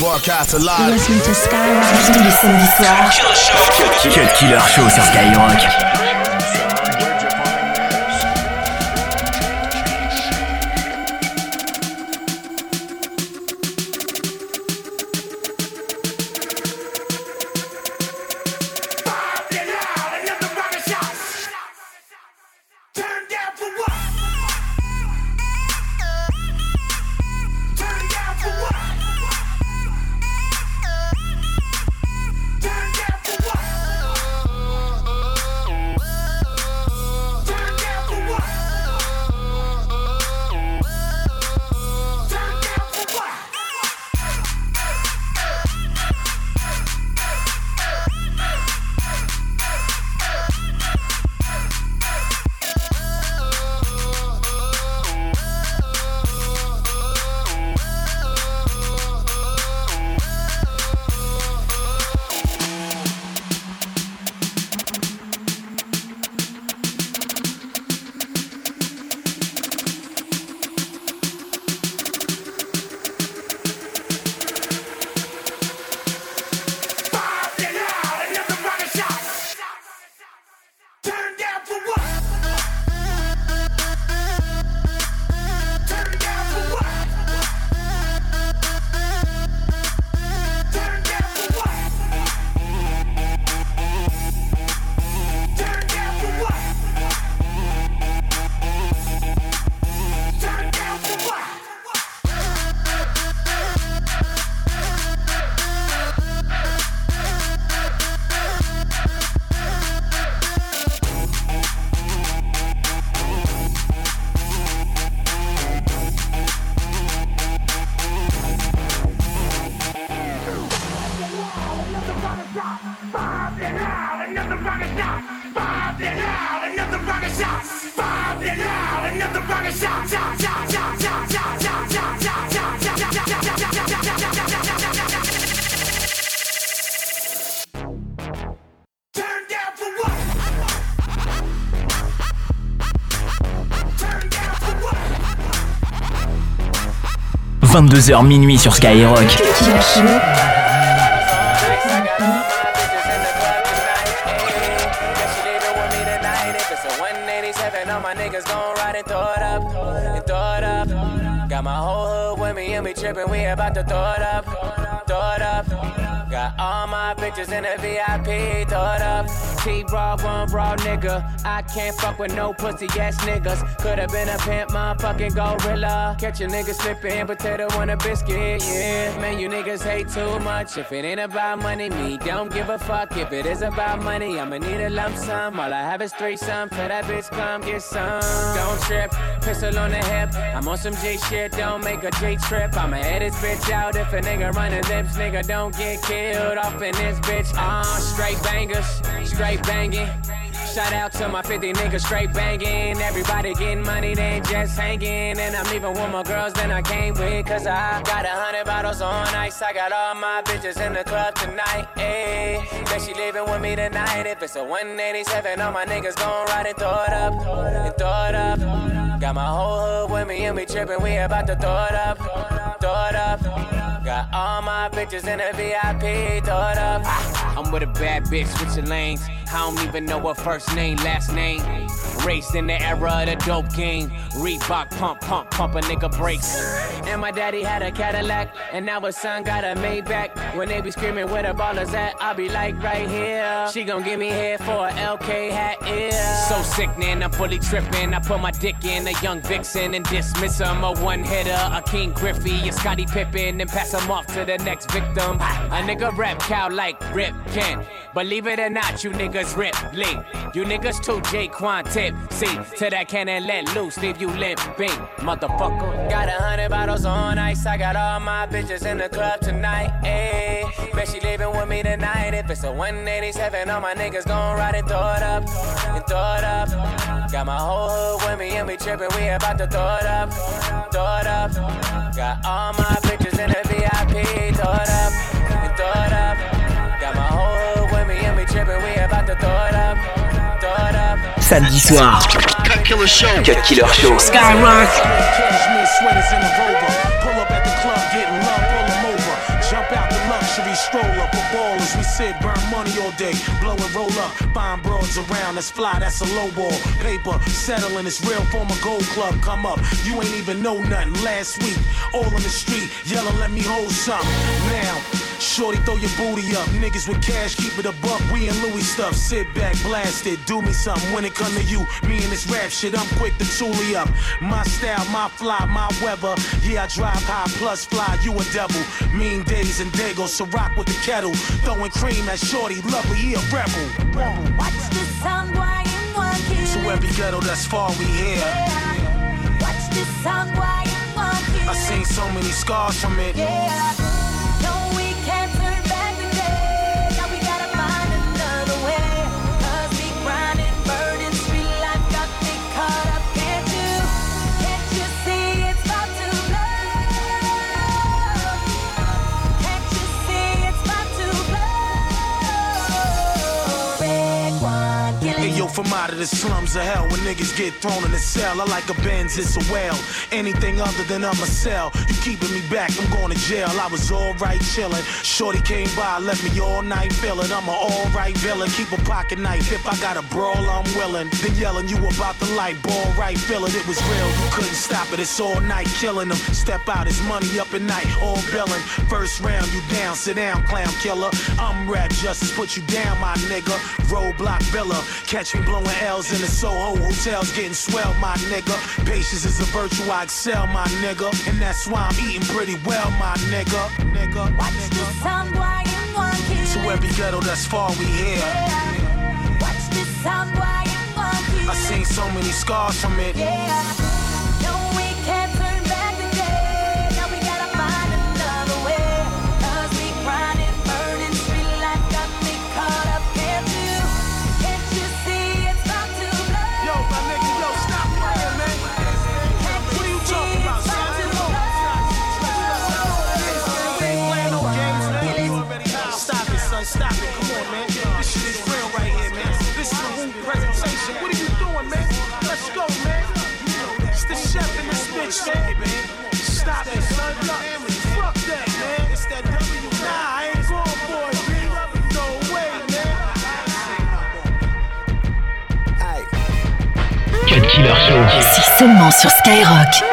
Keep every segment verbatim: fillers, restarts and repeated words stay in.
Broadcast alive. You're listening to Skyrock tous les samedis soirs. Cut Killer Show sur Skyrock. vingt-deux heures minuit sur Skyrock. Got my whole hood with me and we trippin', we about to throw it up, throw it up. Got all my bitches in the V I P, throw it up. T-Raw, one raw nigga. I can't fuck with no pussy ass niggas. Could've been a pimp, motherfucking gorilla. Catch a nigga slippin', potato on a biscuit, yeah. Man, you niggas hate too much. If it ain't about money, me don't give a fuck. If it is about money, I'ma need a lump sum. All I have is threesome, tell that bitch come get some. Don't trip, pistol on the hip. I'm on some J shit, don't make a J trip. I'ma head this bitch out if a nigga running lips. Nigga don't get killed off in this bitch. Ah, uh, straight bangers, straight banging. Shout out to my fifty niggas straight banging. Everybody getting money, they ain't just hanging. And I'm leaving with more girls than I came with. Cause I got a hundred bottles on ice. I got all my bitches in the club tonight. Ayy, bet she leaving with me tonight. If it's a one eighty-seven, all my niggas gon' ride and throw it up. And throw it up. Got my whole hood with me and we trippin', we about to throw it up. Throw it up. Got all my bitches in the V I P, throw it up. I'm with a bad bitch, switching lanes. I don't even know her first name, last name. Raised in the era of the dope game. Reebok pump, pump, pump a nigga brakes. And my daddy had a Cadillac, and now his son got a Maybach. When they be screaming where the ballers at, I'll be like right here. She gon' give me head for a L K hat, yeah. So sickening, I'm fully tripping. I put my dick in a young vixen and dismiss him. A one hitter, a King Griffey, a Scottie Pippen, and pass him off to the next victim. A nigga rap cow like Rip Kent. Believe it or not, you niggas rip Lee. You niggas too J-Quan tip. See, to that cannon let loose, leave you limping, motherfucker. Got a hundred bottles on ice. I got all my bitches in the club tonight. Ayy, bet she leaving with me tonight. If it's a one eighty-seven, all my niggas gon' ride and throw it up, and throw it up. Got my whole hood with me and we trippin', we about to throw it up, throw it up. Got all my bitches in the V I P, throw it up, and throw it up. Got my whole hood with me and we trippin', we about to throw it up, throw it up. Samedi soir, Cut Killer Show. Cut Killer Show. Skyrock. Cashmere sweaters in a rover. Pull up at the club, getting love, pull them over. Jump out luxury stroller for ballers. We sit, burn money all day, blow and roll up, find broads around. That's fly, that's a low ball. Paper, settling, it's real form a gold club. Come up, you ain't even know nothing. Last week, all in the street, yelling, let me hold something. Now, shorty, throw your booty up. Niggas with cash, keep it a buck. We in Louis stuff. Sit back, blast it. Do me something when it come to you. Me and this rap shit, I'm quick to toolie up. My style, my fly, my weather. Yeah, I drive high plus fly. You a devil. Mean days and Dago, so rock with the kettle. Throwing cream at shorty, lovely, he a rebel. Watch the sound, why and one kill. To every ghetto that's far, we here. Yeah. Watch the sound, why and one kill. I seen so many scars from it. Yeah. No, we can't turn back the day. Now we gotta find another way. Cause we grinding, burning, street life got me caught up. Can't you, can't you see it's about to blow? Can't you see it's about to blow? Red one, killing. Hey yo, from out of the slums of hell, when niggas get thrown in the cell, I like a Benz, it's a whale. Anything other than I'm a cell, you keeping me back, I'm going to jail. I was alright chillin', shorty came by, left me all night feelin'. I'm a alright villain, keep a pocket knife. If I got a brawl, I'm willing. Then yelling you about the light, ball right, feelin'. It was real, you couldn't stop it, it's all night killing them. Step out, it's money up at night, all billin'. First round, you down, sit down, clown killer. I'm rap justice, put you down, my nigga. Roadblock villa, catch me blowing L's in the Soho hotels, getting swell, my nigga. Patience is a virtue, I excel, my nigga. And that's why I'm eating pretty well, my nigga. Nigga. Watch the sound, why and one kill. To every ghetto that's far, we here. Yeah. Watch the sound, why and one kill. I seen so many scars from it. Yeah. No, we can't turn back the day. Now we gotta find another way. Cause we grinding, burning, street life got me caught up. Can't you, can't you see it's about to blow? Yo, my nigga, yo, stop playing, man. Can't What are you see talking about, it's son? about to blow? We ain't playing no games, man. You already know. Stop it, son, stop it. Come on, man. This shit is real right here, man. This is the Who presentation. What are you doing, man? Let's go, man. It's the chef in this bitch, man. Stop it, son. Fuck that, man. It's that W. Nah, I ain't going for it, B. No way, man. Cut Killer Show. C'est seulement sur Skyrock.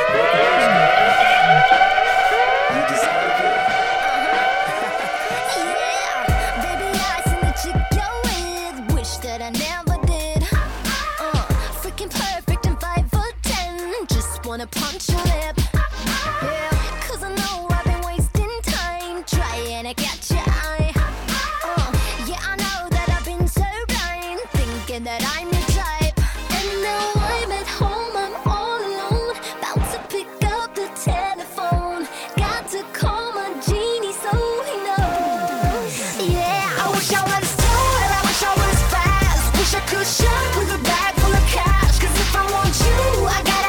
Punch your lip, yeah. Cause I know I've been wasting time trying to catch your eye. Uh, yeah, I know that I've been so blind, thinking that I'm your type. And now I'm at home, I'm all alone, about to pick up the telephone. Got to call my genie so he knows. Yeah, I wish I was tall, I wish I was fast, wish I could shop with a bag full of cash. Cause if I want you, I gotta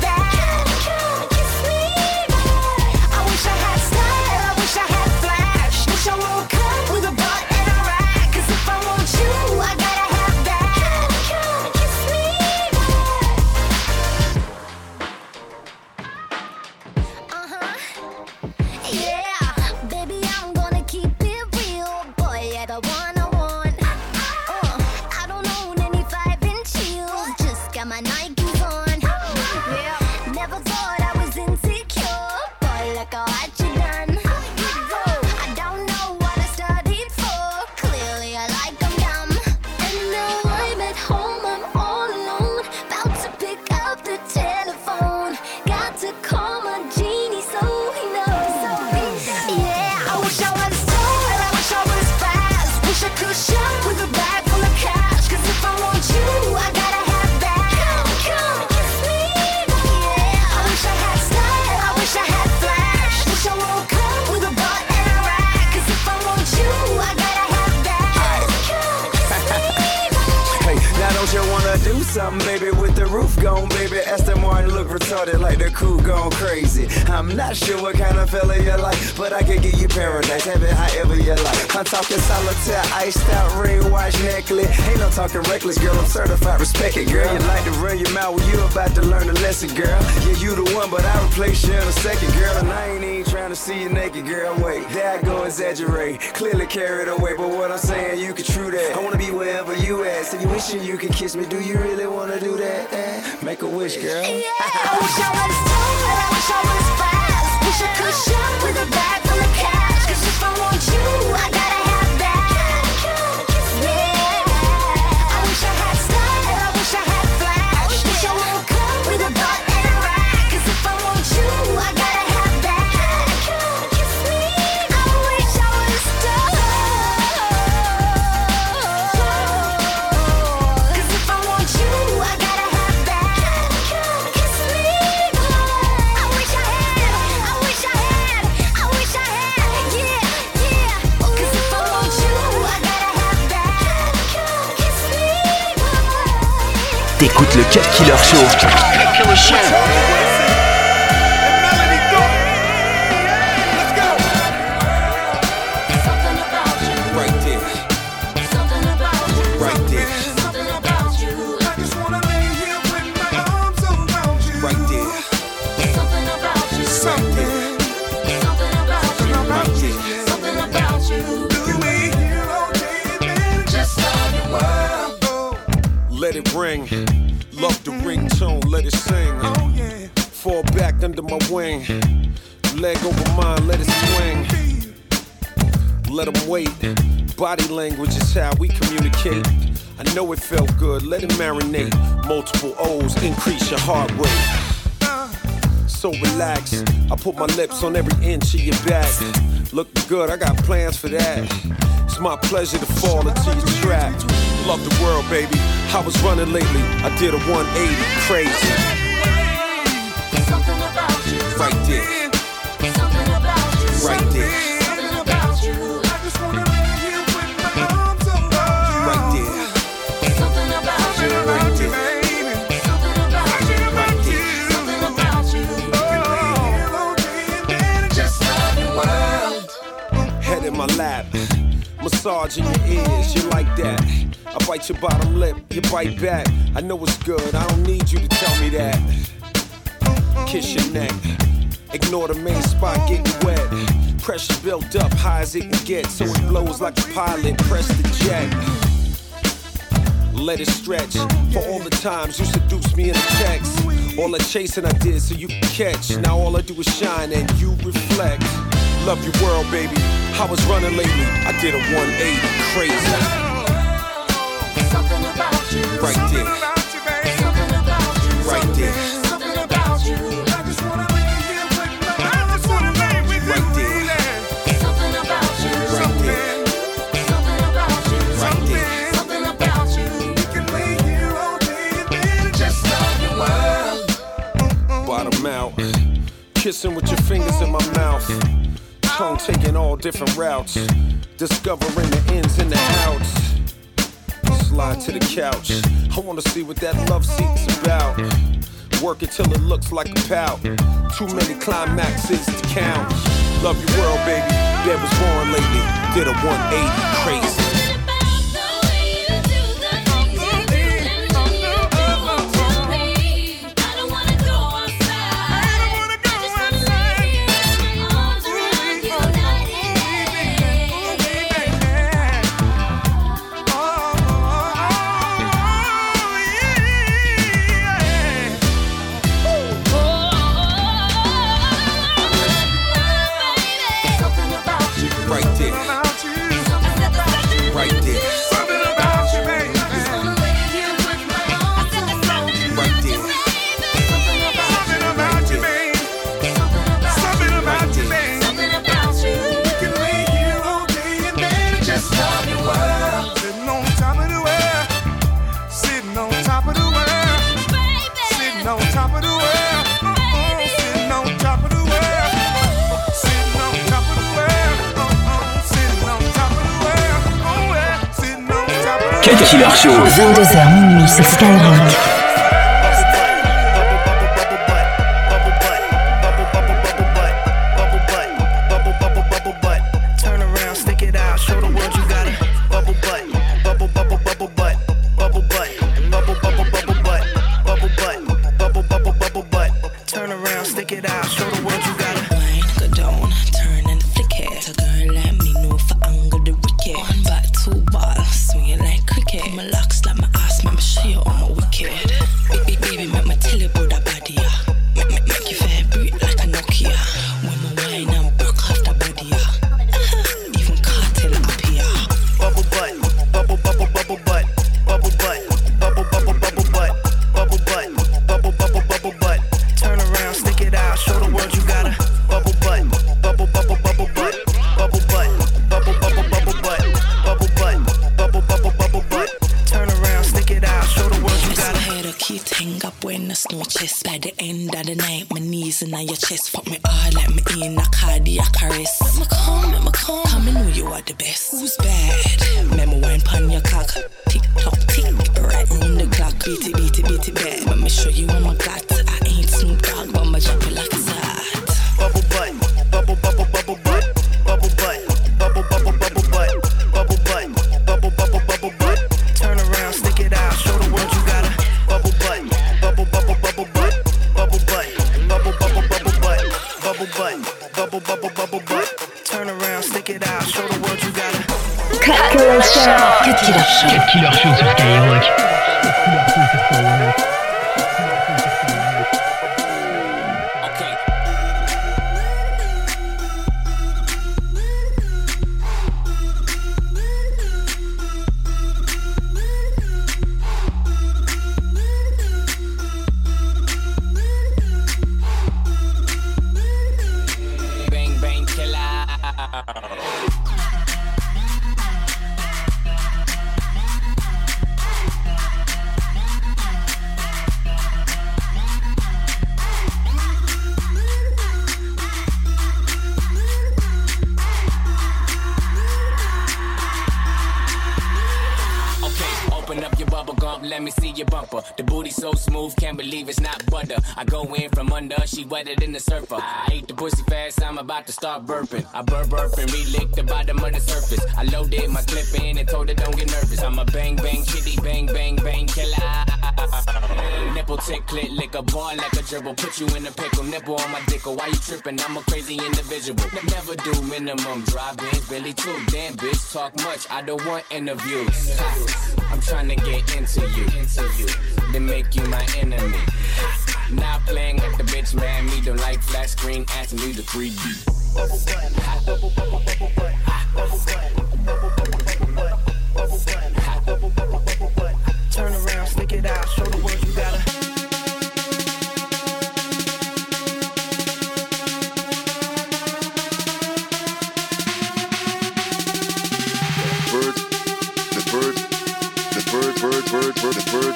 something, baby, with the roof gone, baby. Aston Martin look retarded like the crew gone crazy. I'm not sure what kind of fella you like, but I can give you paradise. Have it however you your life. I'm talking solitaire, iced out ring watch necklace. Ain't no talking reckless, girl. I'm certified, respect it, girl. You like to run your mouth when you about to learn a lesson, girl. Yeah, you the one, but I replace you in a second, girl. And I ain't even trying to see you naked, girl. Wait, there I go exaggerate, clearly carried away. But what I'm saying, you can true that. I wanna be wherever you at. So you wishing you could kiss me? Do you really wanna do that? Eh? Make a wish, girl. Yeah, I wish I was tall, I wish I was fast. Wish I could shop with a bag full of cash. Cause if I want you, I gotta have that. Yeah, I wish I had style, I wish I had flash. Wish I woke up with a butt and a rack. Cause if I want you, I gotta have that. Kiss me, I wish I was tall. Cause if I want you, I gotta have that. Kiss me, I wish I had, I wish I had, I wish I had, yeah, yeah. Cause if I want you, I gotta have that. Kiss me. T'écoutes le Cut Killer Show. Cut Killer Show. Something about you. Right there, Something about you. right there, Something about you. I just wanna lay here with my arms around you. right there, Something about you. Something Something about you. about you. Something about you. Do we hear all day and then Just love you. oh, Let it ring, love the ringtone, let it sing. oh yeah. Fall back under my wing, leg over mine, let it swing. Let them wait, body language is how we communicate. I know it felt good, let it marinate. Multiple O's, increase your heart rate. So relax, I put my lips on every inch of your back. Looking good, I got plans for that. It's my pleasure to fall into your trap. Love the world, baby. I was running lately, I did a one eighty, crazy. Something about you. Right there, Something about you. right there, Something about you. I just wanna lay here with my arms around you. right there, Something about you. About you, baby. Something about you. right there. Something about you. Hear all day and then Just love you. World. Head in my lap, massage in your ears, you like that. I bite your bottom lip, you bite back. I know it's good, I don't need you to tell me that. Kiss your neck, ignore the main spot getting wet. Pressure built up high as it can get, so it blows like a pilot, press the jet. Let it stretch, for all the times you seduced me in a text. All the chasing I did so you can catch. Now all I do is shine and you reflect. Love your world, baby. I was running lately, I did a one eighty, crazy. Something about you. Right there, about you, baby. Something about you. right there, Something about you. I just wanna lay here with my arms around you. right there, Something about you. right there, Something about you. right there. Something about you. We can lay here all day and then Just love your world. Bottom out, kissing with your fingers in my mouth. Tongue taking all different routes, discovering the ins and the outs. Slide to the couch, I wanna see what that love seat's about. Work it till it looks like a pout. Too many climaxes to count. Love your world, baby. Dad was born lately, did a one eighty, crazy. Something about you. Right there, about you. right there, Something about you, baby. right there, Something about you, baby. Something about you, baby. We can lay here all day and then Just love your world. sitting on top of the world. Sitting on top of the world. Sitting on top of the world. Uh-uh. Sitting on top of the world. Sitting on top of the world. Uh-uh. Sitting on top of the world. Oh yeah. Sitting on top of the world. Cut Killer Show. vingt-deux heures minuit sur Skyrock. Turn around, stick it out. test. By the end of the night, my knees in your chest. Fuck me hard like me in a cardiac arrest. Make me come, make me come. Come and know you are the best. Who's bad? Memo wine pan your cock. Tick tock tick, right round the clock. Beat it, beat it, beat it bad. Let me show you what I got. I ain't Snoop Dogg, but I'ma drop it like it's hot. Bubble butt, bubble bubble bubble butt, bubble butt, bubble bubble bubble butt, bubble butt, bubble bubble bubble butt. Turn around, stick it out, show the world you got a bubble butt, bubble bubble bubble butt, bubble butt, bubble bubble bubble butt, bubble butt, bubble bubble bubble butt. Turn around, stick it out, show the world you got a Cut Killer Show. Cut Killer Show. Cut Killer Show sur Skyrock. Let me see your bumper. The booty so smooth, can't believe it's not butter. I go in from under, she wetter than the surfer. I ate the pussy fast, I'm about to start burping. I burp burp and re-lick the bottom of the surface. I loaded my clip in and told her don't get nervous. I'm a bang bang chitty bang bang bang killer. Nipple tick clit lick a ball like a gerbil. Put you in a pickle, nipple on my dick. Why you tripping? I'm a crazy individual. Never do minimum drive-ins, Billy too. Damn bitch, talk much. I don't want interviews. I'm trying to get into you, into you, then make you my enemy. Not playing with the bitch, man. Me don't like flat screen, asking me the three D. Bubble butt, bubble bubble bubble butt, bubble butt, bubble bubble bubble butt, bubble butt, bubble bubble bubble butt. Turn around, stick it out, show the world you got a bird, the bird, the bird, bird, bird, bird, the bird,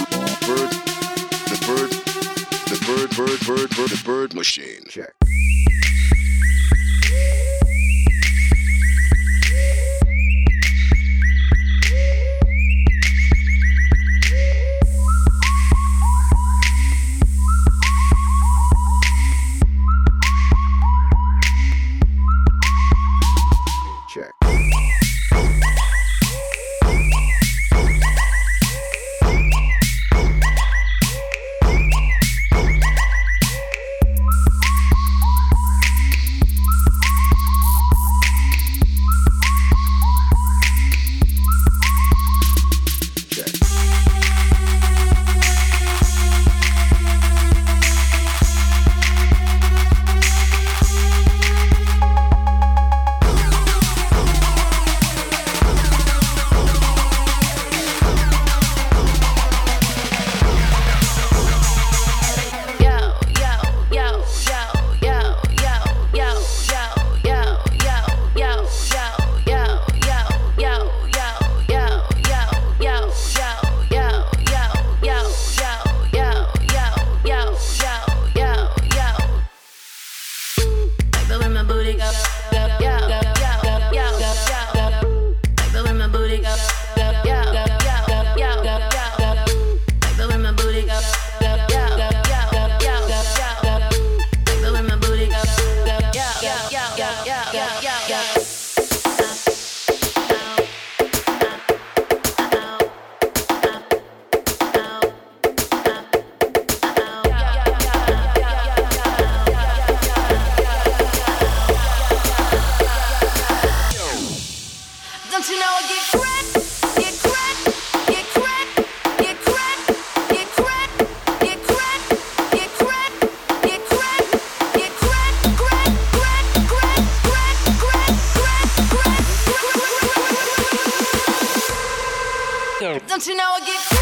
bird, the bird, the bird, bird, bird, bird, the bird machine. Check. Don't you know I get